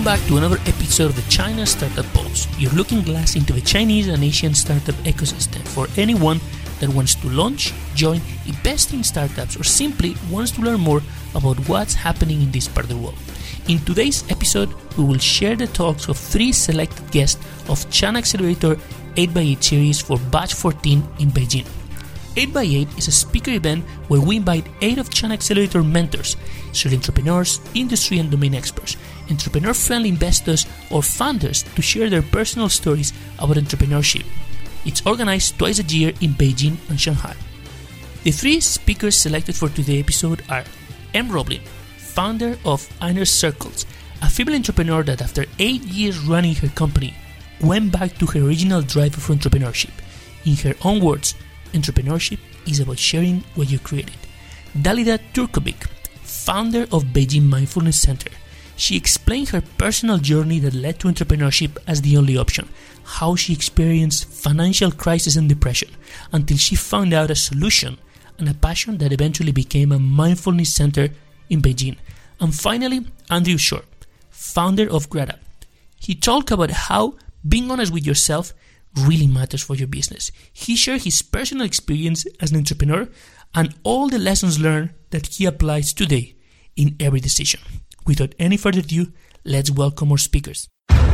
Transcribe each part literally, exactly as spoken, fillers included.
Welcome back to another episode of the China Startup Pulse, your looking glass into the Chinese and Asian startup ecosystem for anyone that wants to launch, join, invest in startups, or simply wants to learn more about what's happening in this part of the world. In today's episode, we will share the talks of three selected guests of China Accelerator eight by eight series for batch fourteen in Beijing. eight by eight is a speaker event where we invite eight of China Accelerator mentors, serial entrepreneurs, industry and domain experts, entrepreneur-friendly investors, or founders to share their personal stories about entrepreneurship. It's organized twice a year in Beijing and Shanghai. The three speakers selected for today's episode are M. Roblin, founder of Inner Circles, a female entrepreneur that after eight years running her company, went back to her original drive for entrepreneurship. In her own words, entrepreneurship is about sharing what you created. Dalida Turkovic, founder of Beijing Mindfulness Center. She explained her personal journey that led to entrepreneurship as the only option, how she experienced financial crisis and depression, until she found out a solution and a passion that eventually became a mindfulness center in Beijing. And finally, Andrew Short, founder of Grata. He talked about how being honest with yourself really matters for your business. He shared his personal experience as an entrepreneur and all the lessons learned that he applies today in every decision. Without any further ado, let's welcome our speakers.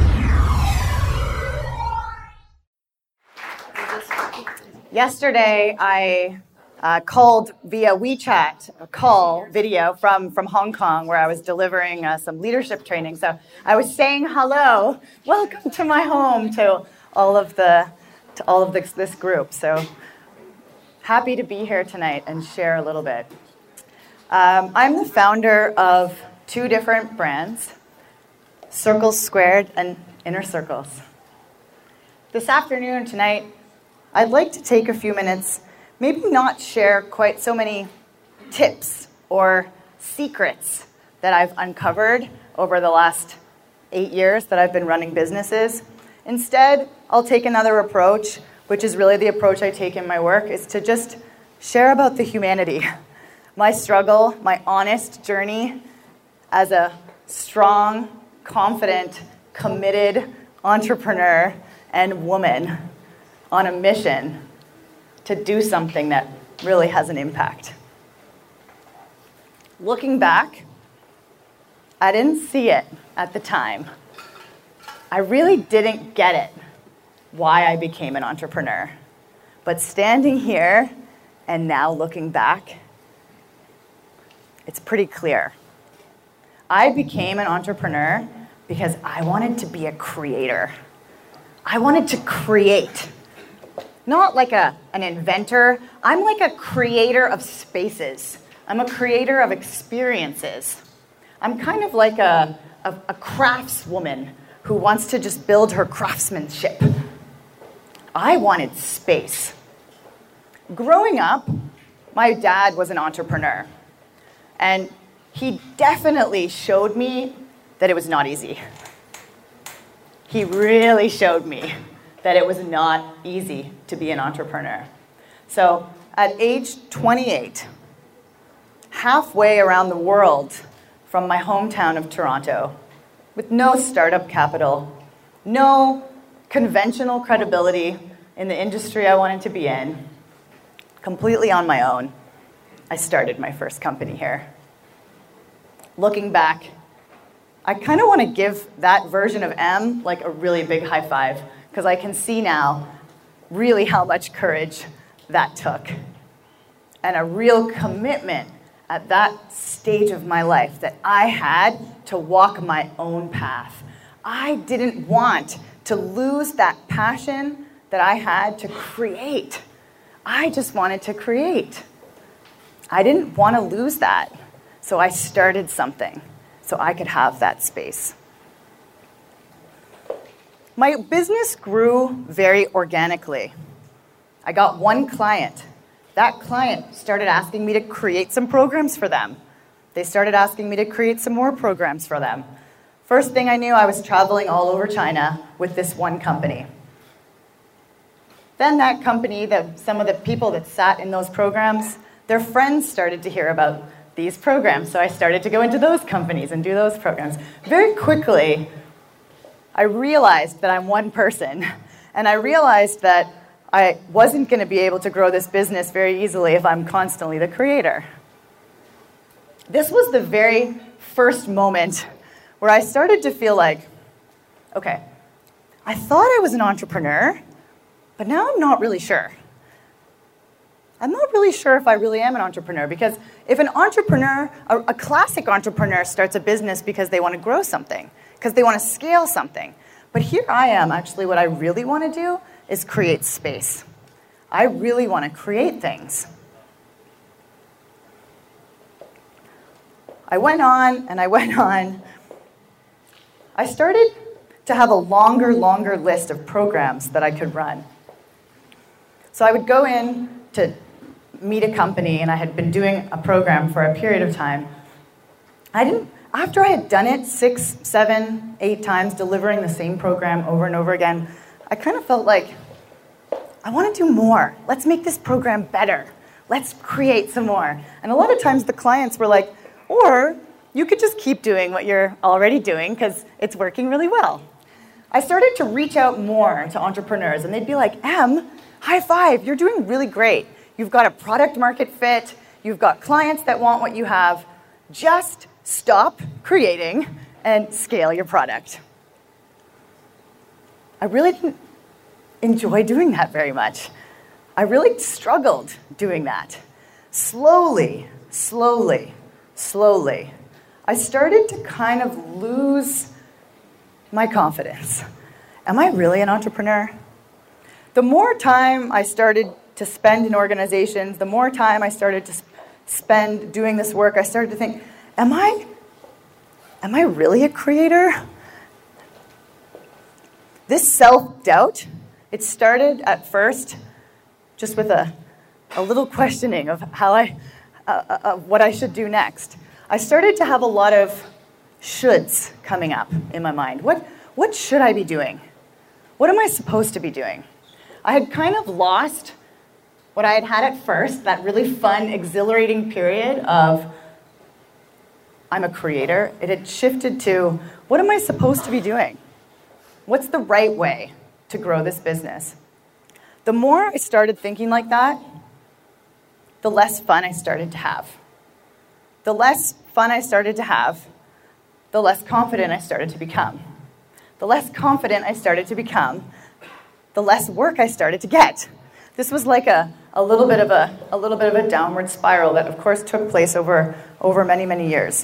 Yesterday, I uh, called via WeChat, a call video from, from Hong Kong, where I was delivering uh, some leadership training. So I was saying hello, welcome to my home, to all of the to all of this, this group. So happy to be here tonight and share a little bit. Um, I'm the founder of two different brands, Circles Squared and Inner Circles. This afternoon, tonight, I'd like to take a few minutes, maybe not share quite so many tips or secrets that I've uncovered over the last eight years that I've been running businesses. Instead, I'll take another approach, which is really the approach I take in my work, is to just share about the humanity, my struggle, my honest journey as a strong, confident, committed entrepreneur and woman on a mission to do something that really has an impact. Looking back, I didn't see it at the time. I really didn't get it, why I became an entrepreneur. But standing here and now looking back, it's pretty clear. I became an entrepreneur because I wanted to be a creator. I wanted to create. Not like a, an inventor. I'm like a creator of spaces. I'm a creator of experiences. I'm kind of like a, a, a craftswoman who wants to just build her craftsmanship. I wanted space. Growing up, my dad was an entrepreneur. And he definitely showed me that it was not easy. He really showed me that it was not easy to be an entrepreneur. So at age twenty-eight, halfway around the world from my hometown of Toronto, with no startup capital, no conventional credibility in the industry I wanted to be in, completely on my own, I started my first company here. Looking back, I kind of want to give that version of M like a really big high five, because I can see now really how much courage that took and a real commitment at that stage of my life that I had to walk my own path. I didn't want to lose that passion that I had to create. I just wanted to create. I didn't want to lose that. So I started something so I could have that space. My business grew very organically. I got one client. That client started asking me to create some programs for them. They started asking me to create some more programs for them. First thing I knew, I was traveling all over China with this one company. Then that company, the, some of the people that sat in those programs, their friends started to hear about these programs. So I started to go into those companies and do those programs. Very quickly, I realized that I'm one person. And I realized that I wasn't going to be able to grow this business very easily if I'm constantly the creator. This was the very first moment where I started to feel like, okay, I thought I was an entrepreneur, but now I'm not really sure. I'm not really sure if I really am an entrepreneur, because if an entrepreneur, a, a classic entrepreneur starts a business because they want to grow something, because they want to scale something. But here I am, actually, what I really want to do is create space. I really want to create things. I went on and I went on. I started to have a longer, longer list of programs that I could run. So I would go in to meet a company, and I had been doing a program for a period of time. I didn't, after I had done it six, seven, eight times, delivering the same program over and over again, I kind of felt like, I want to do more. Let's make this program better. Let's create some more. And a lot of times the clients were like, or you could just keep doing what you're already doing because it's working really well. I started to reach out more to entrepreneurs, and they'd be like, Em, high five, you're doing really great. You've got a product market fit. You've got clients that want what you have. Just stop creating and scale your product. I really didn't enjoy doing that very much. I really struggled doing that. Slowly, slowly, slowly, I started to kind of lose my confidence. Am I really an entrepreneur? The more time I started to spend in organizations, the more time I started to spend doing this work, I started to think, am I, am I really a creator? This self-doubt, it started at first just with a, a little questioning of how I, uh, uh, what I should do next. I started to have a lot of shoulds coming up in my mind. What, what should I be doing? What am I supposed to be doing? I had kind of lost what I had had at first, that really fun, exhilarating period of I'm a creator. It had shifted to, what am I supposed to be doing? What's the right way to grow this business? The more I started thinking like that, the less fun I started to have. The less fun I started to have, the less confident I started to become. The less confident I started to become, the less work I started to get. This was like a, a little bit of a, a little bit of a downward spiral that, of course, took place over, over many, many years.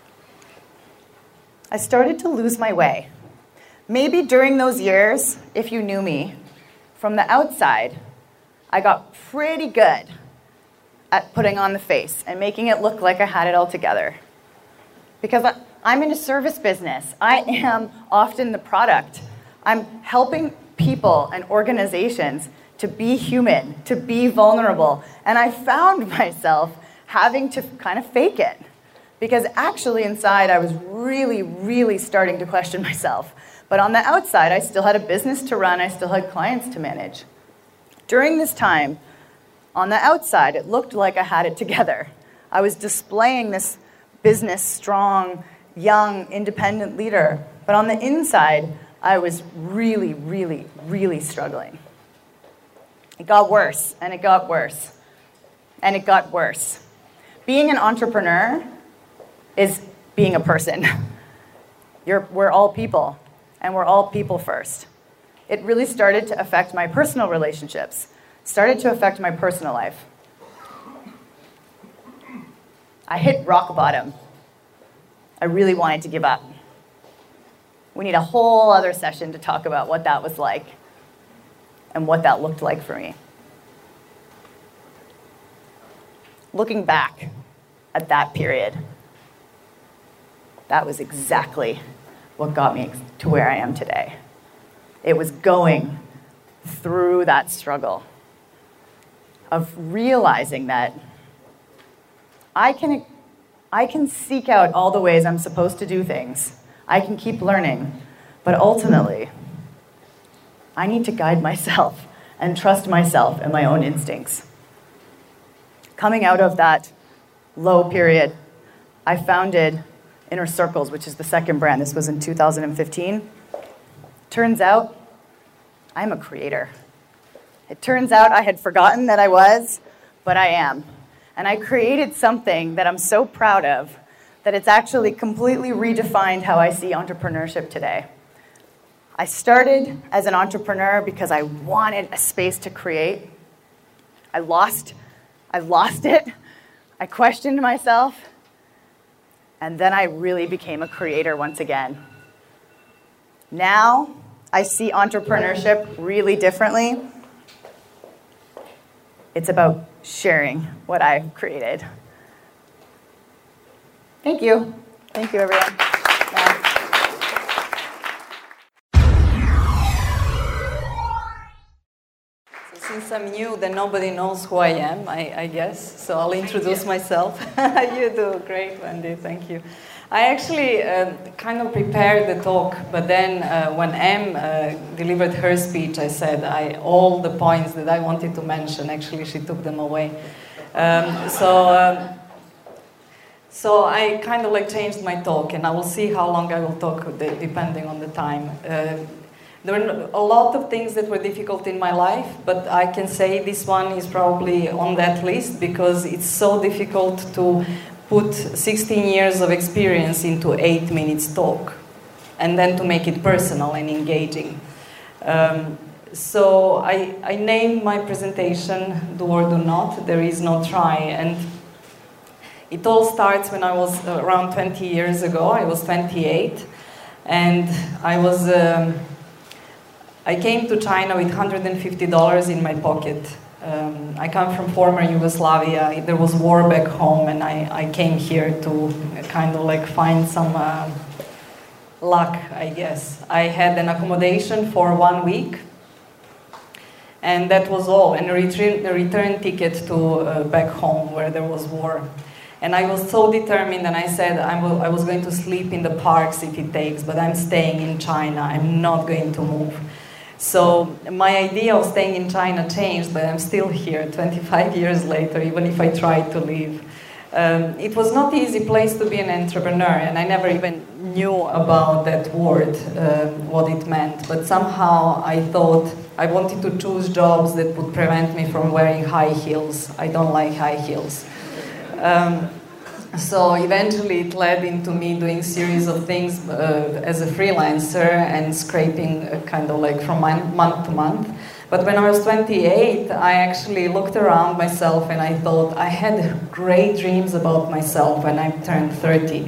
I started to lose my way. Maybe during those years, if you knew me, from the outside, I got pretty good at putting on the face and making it look like I had it all together. Because I, I'm in a service business. I am often the product. I'm helping people and organizations to be human, to be vulnerable. And I found myself having to kind of fake it. Because actually inside, I was really, really starting to question myself. But on the outside, I still had a business to run. I still had clients to manage. During this time, on the outside, it looked like I had it together. I was displaying this business, strong, young, independent leader. But on the inside, I was really, really, really struggling. It got worse, and it got worse, and it got worse. Being an entrepreneur is being a person. You're, we're all people, and we're all people first. It really started to affect my personal relationships, started to affect my personal life. I hit rock bottom. I really wanted to give up. We need a whole other session to talk about what that was like and what that looked like for me. Looking back at that period, that was exactly what got me to where I am today. It was going through that struggle of realizing that I can, I can seek out all the ways I'm supposed to do things. I can keep learning, but ultimately, I need to guide myself and trust myself and my own instincts. Coming out of that low period, I founded Inner Circles, which is the second brand. This was in two thousand fifteen. Turns out, I'm a creator. It turns out I had forgotten that I was, but I am. And I created something that I'm so proud of that it's actually completely redefined how I see entrepreneurship today. I started as an entrepreneur because I wanted a space to create. I lost, I lost it. I questioned myself. And then I really became a creator once again. Now, I see entrepreneurship really differently. It's about sharing what I've created. Thank you. Thank you, everyone. Bye. So since I'm new, then nobody knows who I am, I, I guess. So I'll introduce myself. You do great, Wendy. Thank you. I actually uh, kind of prepared the talk, but then uh, when Em uh, delivered her speech, I said I, all the points that I wanted to mention, actually she took them away. Um, so, um, so I kind of like changed my talk, and I will see how long I will talk depending on the time. Uh, there were a lot of things that were difficult in my life, but I can say this one is probably on that list because it's so difficult to put sixteen years of experience into eight minutes talk, and then to make it personal and engaging. Um, so I, I named my presentation Do or Do Not, There Is No Try, and it all starts when I was around twenty years ago. I was twenty-eight, and I was um, I came to China with one hundred fifty dollars in my pocket. Um, I come from former Yugoslavia. There was war back home, and I, I came here to kind of like find some uh, luck, I guess. I had an accommodation for one week, and that was all, and a return, a return ticket to uh, back home where there was war. And I was so determined, and I said I, will, I was going to sleep in the parks if it takes, but I'm staying in China. I'm not going to move. So my idea of staying in China changed, but I'm still here twenty-five years later, even if I tried to leave. Um, it was not an easy place to be an entrepreneur, and I never even knew about that word, uh, what it meant. But somehow I thought I wanted to choose jobs that would prevent me from wearing high heels. I don't like high heels. Um, So eventually it led into me doing series of things uh, as a freelancer and scraping uh, kind of like from month to month. But when I was twenty-eight, I actually looked around myself and I thought I had great dreams about myself when I turned thirty.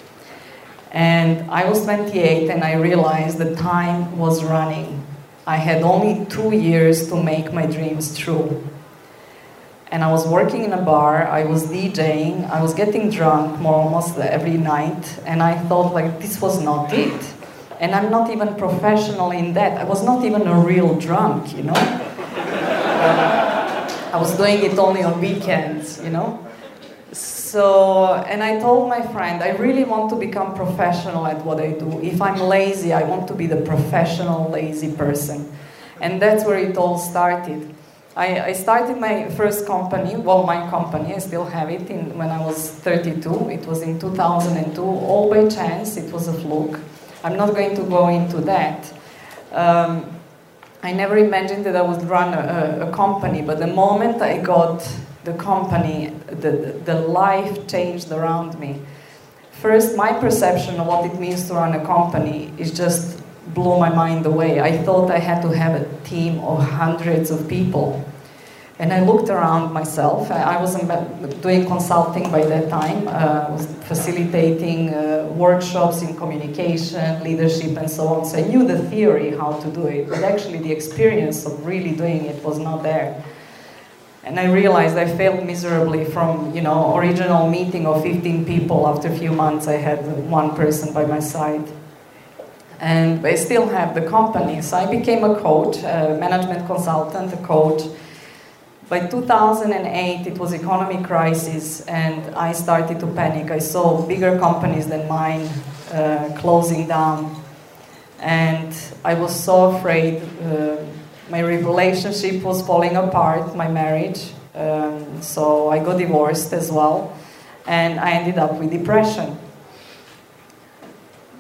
And I was twenty-eight and I realized the time was running. I had only two years to make my dreams true. And I was working in a bar, I was DJing, I was getting drunk more almost every night, and I thought like this was not it. And I'm not even professional in that. I was not even a real drunk, you know? I was doing it only on weekends, you know? So, and I told my friend, I really want to become professional at what I do. If I'm lazy, I want to be the professional lazy person. And that's where it all started. I, I started my first company, well, my company, I still have it, in, when I was thirty-two. It was in two thousand two, all by chance, it was a fluke. I'm not going to go into that. Um, I never imagined that I would run a, a company, but the moment I got the company, the, the life changed around me. First, my perception of what it means to run a company is just blew my mind away. I thought I had to have a team of hundreds of people. And I looked around myself. I was doing consulting by that time. I uh, was facilitating uh, workshops in communication, leadership, and so on. So I knew the theory, how to do it, but actually the experience of really doing it was not there. And I realized I failed miserably from, you know, original meeting of fifteen people. After a few months, I had one person by my side. And I still have the company. So I became a coach, a management consultant, a coach. By two thousand eight, it was economic crisis, and I started to panic. I saw bigger companies than mine uh, closing down. And I was so afraid. Uh, my relationship was falling apart, my marriage. Um, so I got divorced as well. And I ended up with depression.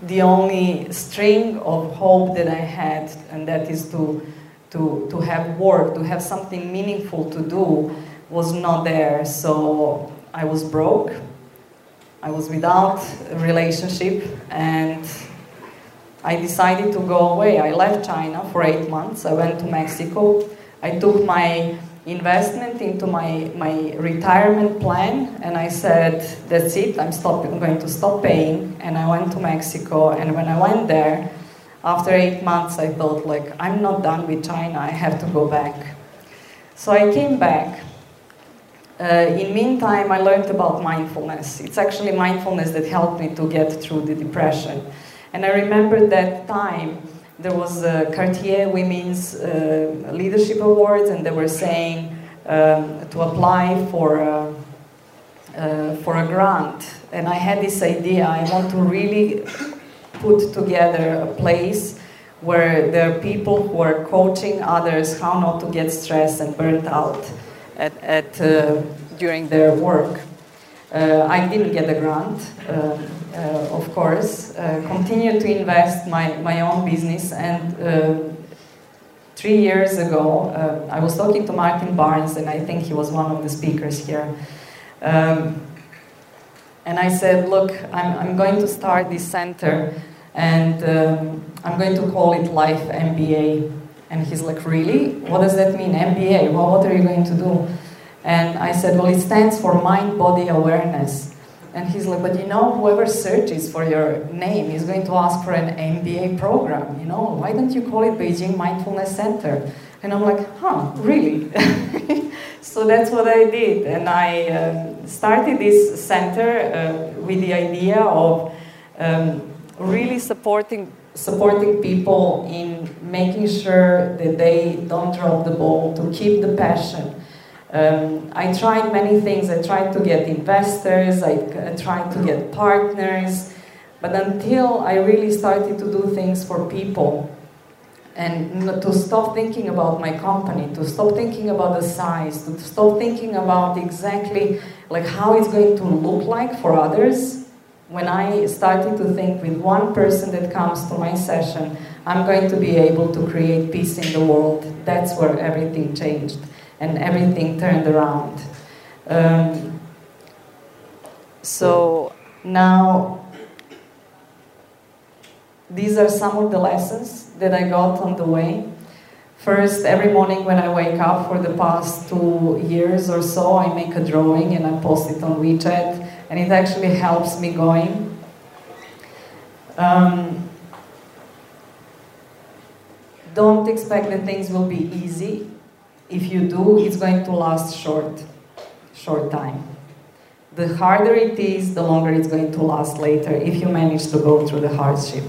the only string of hope that I had, and that is to, to, to have work, to have something meaningful to do, was not there. So I was broke, I was without a relationship, and I decided to go away. I left China for eight months, I went to Mexico, I took my investment into my, my retirement plan, and I said, that's it, I'm, stop, I'm going to stop paying, and I went to Mexico, and when I went there, after eight months I thought, like, I'm not done with China, I have to go back. So I came back. Uh, in meantime, I learned about mindfulness. It's actually mindfulness that helped me to get through the depression. And I remember that time, there was a Cartier Women's uh, Leadership Awards, and they were saying um, to apply for a, uh, for a grant. And I had this idea, I want to really put together a place where there are people who are coaching others how not to get stressed and burnt out at, at, uh, during their work. Uh, I didn't get a grant, uh, uh, of course. Uh, continued to invest my, my own business, and uh, three years ago, uh, I was talking to Martin Barnes, and I think he was one of the speakers here. Um, and I said, look, I'm, I'm going to start this center, and um, I'm going to call it Life M B A. And he's like, really? What does that mean, M B A? Well, what are you going to do? And I said, well, it stands for Mind-Body Awareness. And he's like, but you know, whoever searches for your name is going to ask for an M B A program, you know? Why don't you call it Beijing Mindfulness Center? And I'm like, huh, really? So that's what I did. And I uh, started this center uh, with the idea of um, really supporting supporting people in making sure that they don't drop the ball, to keep the passion. Um, I tried many things. I tried to get investors, I, I tried to get partners, but until I really started to do things for people, and to stop thinking about my company, to stop thinking about the size, to stop thinking about exactly like how it's going to look like for others. When I started to think with one person that comes to my session, I'm going to be able to create peace in the world, that's where everything changed and everything turned around. Um, so now, these are some of the lessons that I got on the way. First, every morning when I wake up for the past two years or so, I make a drawing and I post it on WeChat, and it actually helps me going. Um, don't expect that things will be easy. If you do, it's going to last short, short time. The harder it is, the longer it's going to last later, if you manage to go through the hardship.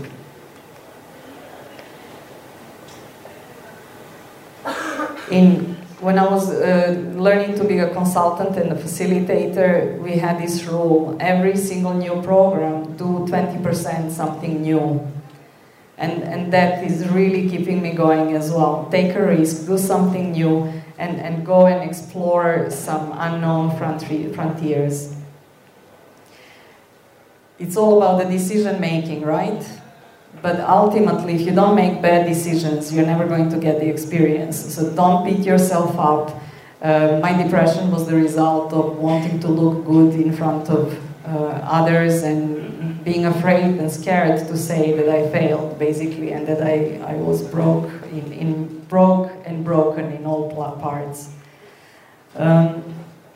In, when I was uh, learning to be a consultant and a facilitator, we had this rule: every single new program, do twenty percent something new. And, and that is really keeping me going as well. Take a risk, do something new, and, and go and explore some unknown frontiers. It's all about the decision making, right? But ultimately, if you don't make bad decisions, you're never going to get the experience. So don't beat yourself up. Uh, my depression was the result of wanting to look good in front of uh, others and being afraid and scared to say that I failed, basically, and that I, I was broke, in, in broke and broken in all parts. Um,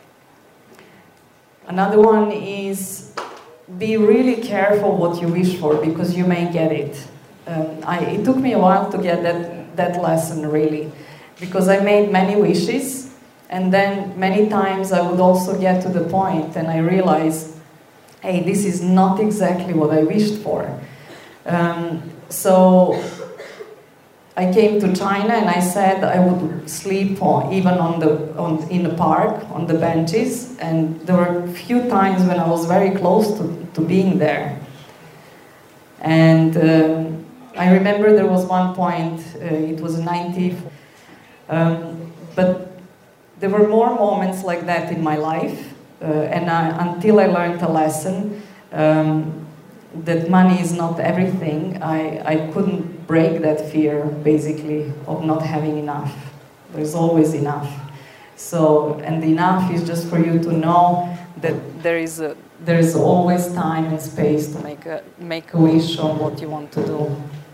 another one is, be really careful what you wish for, because you may get it. Um, I, it took me a while to get that, that lesson, really, because I made many wishes, and then many times I would also get to the point and I realized, hey, this is not exactly what I wished for. Um, so I came to China and I said I would sleep on, even on the, on, in the park, on the benches, and there were a few times when I was very close to, to being there. And um, I remember there was one point, uh, it was ninety, um, but there were more moments like that in my life, uh, and I, until I learned a lesson, um, that money is not everything, I, I couldn't break that fear, basically, of not having enough. There's always enough. So, and enough is just for you to know that there is a, there is always time and space to make a, make a wish on what you want to do.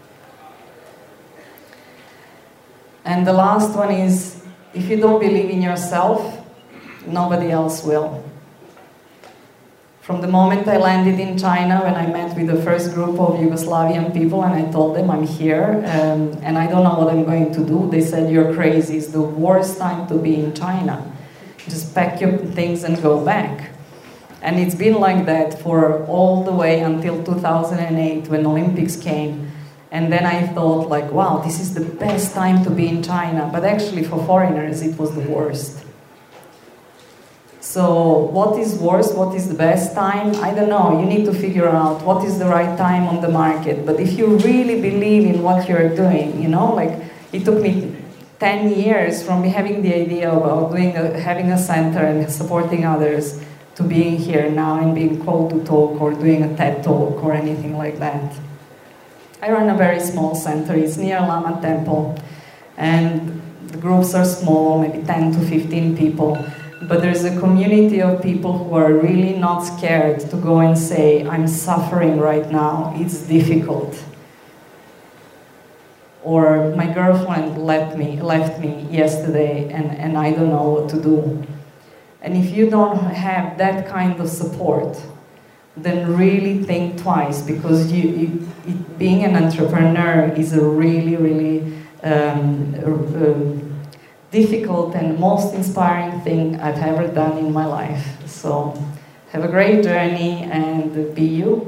And the last one is, if you don't believe in yourself, nobody else will. From the moment I landed in China, when I met with the first group of Yugoslavian people and I told them I'm here um, and I don't know what I'm going to do, they said, you're crazy, it's the worst time to be in China. Just pack your things and go back. And it's been like that for all the way until two thousand eight when Olympics came. And then I thought like, wow, this is the best time to be in China. But actually for foreigners, it was the worst. So what is worse, what is the best time? I don't know, you need to figure out what is the right time on the market. But if you really believe in what you're doing, you know, like it took me ten years from having the idea about doing a, having a center and supporting others to being here now and being called to talk or doing a TED talk or anything like that. I run a very small center, it's near Lama Temple, and the groups are small, maybe ten to fifteen people. But there's a community of people who are really not scared to go and say, I'm suffering right now, it's difficult. Or my girlfriend left me, left me yesterday and, and I don't know what to do. And if you don't have that kind of support, then really think twice, because you, you, it, being an entrepreneur is a really, really um, uh, difficult and most inspiring thing I've ever done in my life. So have a great journey and be you.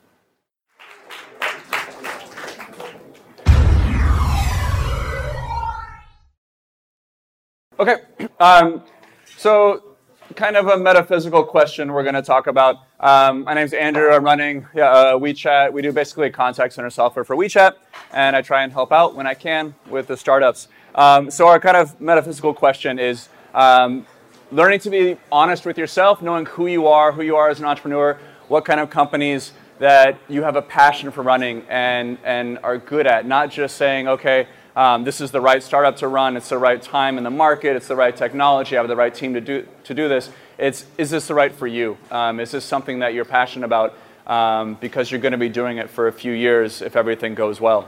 Okay, um, so kind of a metaphysical question we're going to talk about. Um, my name's Andrew. I'm running yeah, uh, WeChat. We do basically contact center software for WeChat, and I try and help out when I can with the startups. Um, so our kind of metaphysical question is um, learning to be honest with yourself, knowing who you are, who you are as an entrepreneur, what kind of companies that you have a passion for running and, and are good at, not just saying, okay, um, this is the right startup to run, it's the right time in the market, it's the right technology, I have the right team to do, to do this. It's, is this the right for you? Um, is this something that you're passionate about um, because you're going to be doing it for a few years if everything goes well?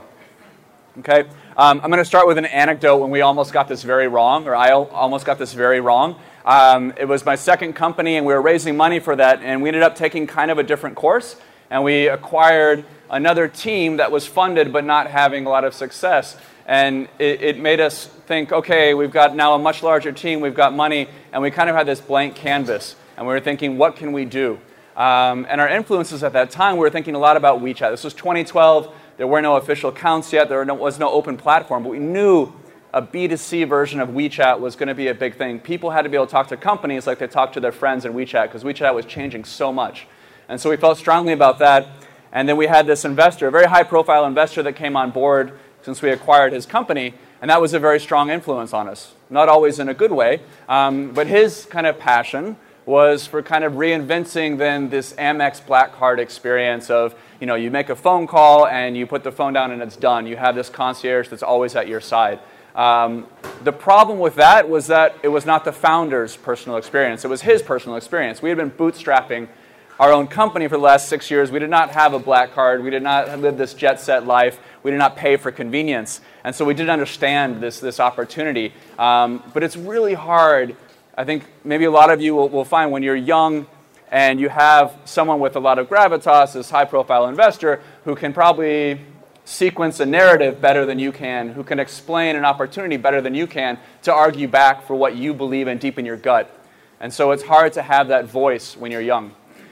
Okay, um, I'm going to start with an anecdote when we almost got this very wrong, or I almost got this very wrong. Um, it was my second company, and we were raising money for that, and we ended up taking kind of a different course, and we acquired another team that was funded but not having a lot of success. And it, it made us think, okay, we've got now a much larger team, we've got money, and we kind of had this blank canvas, and we were thinking, what can we do? Um, and our influences at that time, we were thinking a lot about WeChat. This was twenty twelve. There were no official accounts yet. There was no open platform. But we knew a B two C version of WeChat was going to be a big thing. People had to be able to talk to companies like they talked to their friends in WeChat, because WeChat was changing so much. And so we felt strongly about that. And then we had this investor, a very high-profile investor that came on board since we acquired his company. And that was a very strong influence on us. Not always in a good way, um, but his kind of passion was for kind of reinventing then this Amex Black Card experience of, you know, you make a phone call and you put the phone down and it's done. You have this concierge that's always at your side. Um, the problem with that was that it was not the founder's personal experience. It was his personal experience. We had been bootstrapping our own company for the last six years. We did not have a Black Card. We did not live this jet set life. We did not pay for convenience. And so we didn't understand this, this opportunity. Um, but it's really hard. I think maybe a lot of you will, will find when you're young and you have someone with a lot of gravitas, this high-profile investor, who can probably sequence a narrative better than you can, who can explain an opportunity better than you can to argue back for what you believe in deep in your gut. And so it's hard to have that voice when you're young.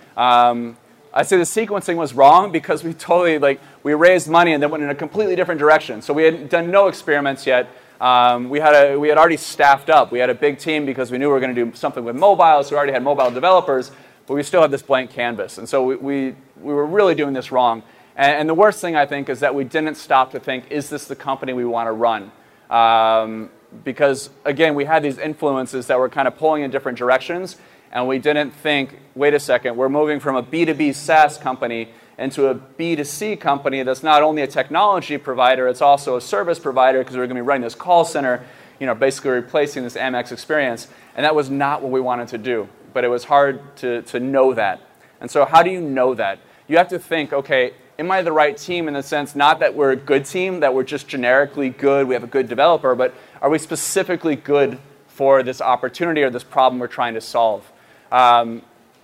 Um, I say the sequencing was wrong because we totally, like, we raised money and then went in a completely different direction. So we had done no experiments yet. Um, we had a, we had already staffed up. We had a big team because we knew we were going to do something with mobile, so we already had mobile developers, but we still had this blank canvas. And so we, we, we were really doing this wrong. And, and the worst thing, I think, is that we didn't stop to think, is this the company we want to run? Um, because, again, we had these influences that were kind of pulling in different directions, and we didn't think, wait a second, we're moving from a B two B SaaS company into a B two C company that's not only a technology provider, it's also a service provider because we're going to be running this call center, you know, basically replacing this Amex experience. And that was not what we wanted to do. But it was hard to, to know that. And so how do you know that? You have to think, okay, am I the right team in the sense not that we're a good team, that we're just generically good, we have a good developer, but are we specifically good for this opportunity or this problem we're trying to solve? Um,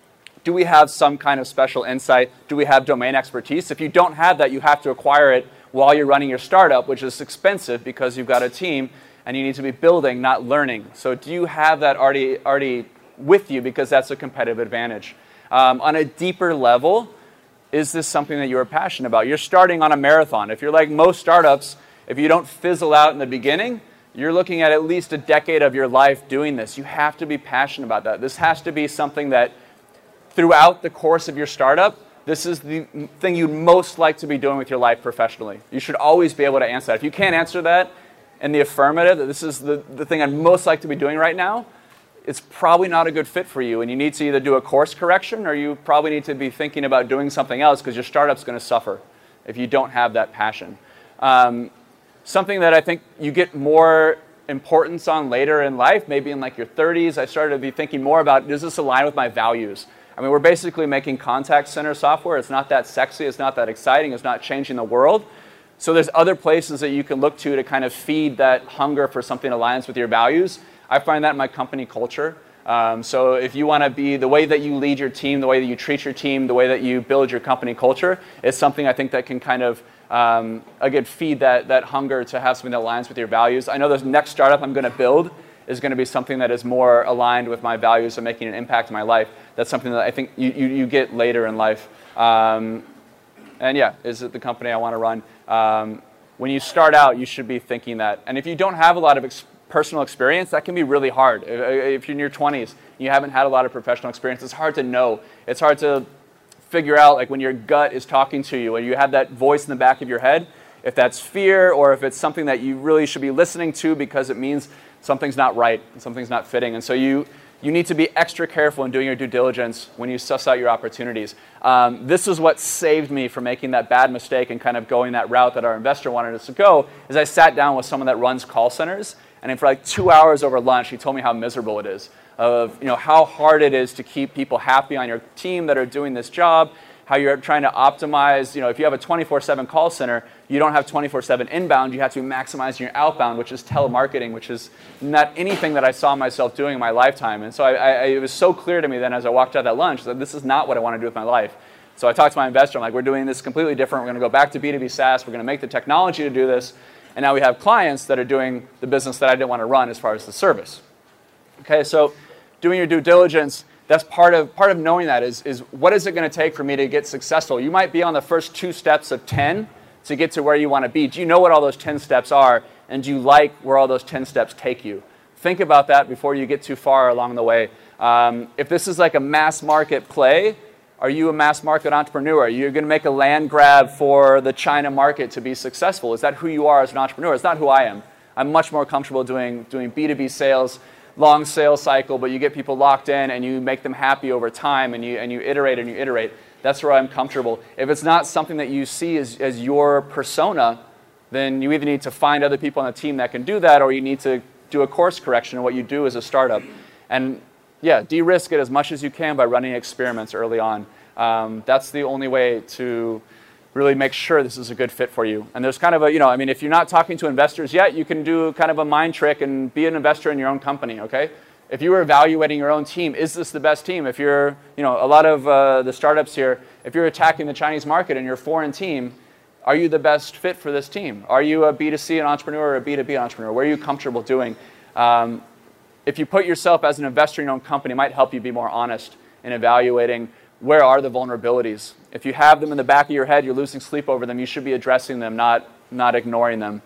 do we have some kind of special insight? Do we have domain expertise? If you don't have that, you have to acquire it while you're running your startup, which is expensive because you've got a team and you need to be building, not learning. So do you have that already, already with you, because that's a competitive advantage? Um, on a deeper level, is this something that you're passionate about? You're starting on a marathon. If you're like most startups, if you don't fizzle out in the beginning, you're looking at at least a decade of your life doing this. You have to be passionate about that. This has to be something that throughout the course of your startup, this is the thing you'd most like to be doing with your life professionally. You should always be able to answer that. If you can't answer that in the affirmative, that this is the, the thing I'd most like to be doing right now, it's probably not a good fit for you, and you need to either do a course correction or you probably need to be thinking about doing something else because your startup's going to suffer if you don't have that passion. Um, something that I think you get more importance on later in life, maybe in like your thirties, I started to be thinking more about, does this align with my values? I mean, we're basically making contact center software. It's not that sexy, it's not that exciting, it's not changing the world. So there's other places that you can look to to kind of feed that hunger for something that aligns with your values. I find that in my company culture. Um, so if you want to be, the way that you lead your team, the way that you treat your team, the way that you build your company culture is something I think that can kind of, um, again, feed that, that hunger to have something that aligns with your values. I know the next startup I'm going to build is going to be something that is more aligned with my values and making an impact in my life. That's something that I think you, you, you get later in life. Um, and yeah, is it the company I want to run? Um, when you start out, you should be thinking that. And if you don't have a lot of experience, personal experience, that can be really hard. If you're in your twenties, you haven't had a lot of professional experience, it's hard to know. It's hard to figure out, like when your gut is talking to you and you have that voice in the back of your head, if that's fear or if it's something that you really should be listening to because it means something's not right, something's not fitting. And so you, you need to be extra careful in doing your due diligence when you suss out your opportunities. Um, this is what saved me from making that bad mistake and kind of going that route that our investor wanted us to go, is I sat down with someone that runs call centers. And for like two hours over lunch, he told me how miserable it is, of you know how hard it is to keep people happy on your team that are doing this job, how you're trying to optimize. You know, if you have a twenty-four seven call center, you don't have twenty-four seven inbound. You have to be maximizing your outbound, which is telemarketing, which is not anything that I saw myself doing in my lifetime. And so I, I, it was so clear to me then as I walked out that lunch that this is not what I want to do with my life. So I talked to my investor. I'm like, we're doing this completely different. We're going to go back to B two B SaaS. We're going to make the technology to do this. And now we have clients that are doing the business that I didn't want to run as far as the service. Okay, so doing your due diligence, that's part of part of knowing that is, is what is it going to take for me to get successful? You might be on the first two steps of ten to get to where you want to be. Do you know what all those ten steps are? And do you like where all those ten steps take you? Think about that before you get too far along the way. Um, if this is like a mass market play, are you a mass market entrepreneur? Are you going to make a land grab for the China market to be successful? Is that who you are as an entrepreneur? It's not who I am. I'm much more comfortable doing, doing B two B sales, long sales cycle, but you get people locked in and you make them happy over time and you, and you iterate and you iterate. That's where I'm comfortable. If it's not something that you see as, as your persona, then you either need to find other people on the team that can do that or you need to do a course correction in what you do as a startup. And yeah, de-risk it as much as you can by running experiments early on. Um, that's the only way to really make sure this is a good fit for you. And there's kind of a, you know, I mean, if you're not talking to investors yet, you can do kind of a mind trick and be an investor in your own company, okay? If you were evaluating your own team, is this the best team? If you're, you know, a lot of uh, the startups here, if you're attacking the Chinese market and you're a foreign team, are you the best fit for this team? Are you a B two C entrepreneur or a B two B entrepreneur? What are you comfortable doing? Um, If you put yourself as an investor in your own company, it might help you be more honest in evaluating where are the vulnerabilities. If you have them in the back of your head, you're losing sleep over them, you should be addressing them, not, not ignoring them.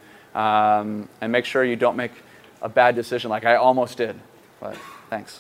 Um, and make sure you don't make a bad decision like I almost did. But thanks.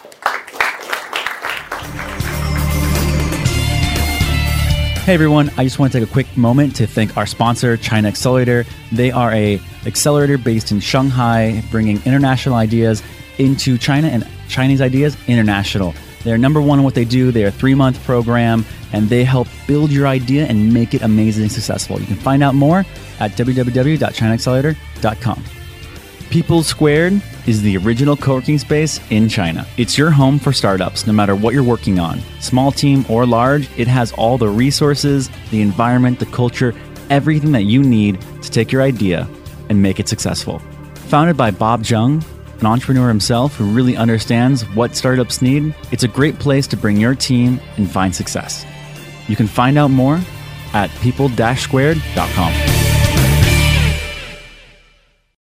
Hey everyone, I just want to take a quick moment to thank our sponsor, China Accelerator. They are a accelerator based in Shanghai, bringing international ideas into China and Chinese ideas international. They're number one in what they do. They're a three-month program, and they help build your idea and make it amazingly successful. You can find out more at w w w dot china accelerator dot com. People Squared is the original co-working space in China. It's your home for startups, no matter what you're working on. Small team or large, it has all the resources, the environment, the culture, everything that you need to take your idea and make it successful. Founded by Bob Jung, an entrepreneur himself who really understands what startups need, it's a great place to bring your team and find success. You can find out more at people dash squared dot com.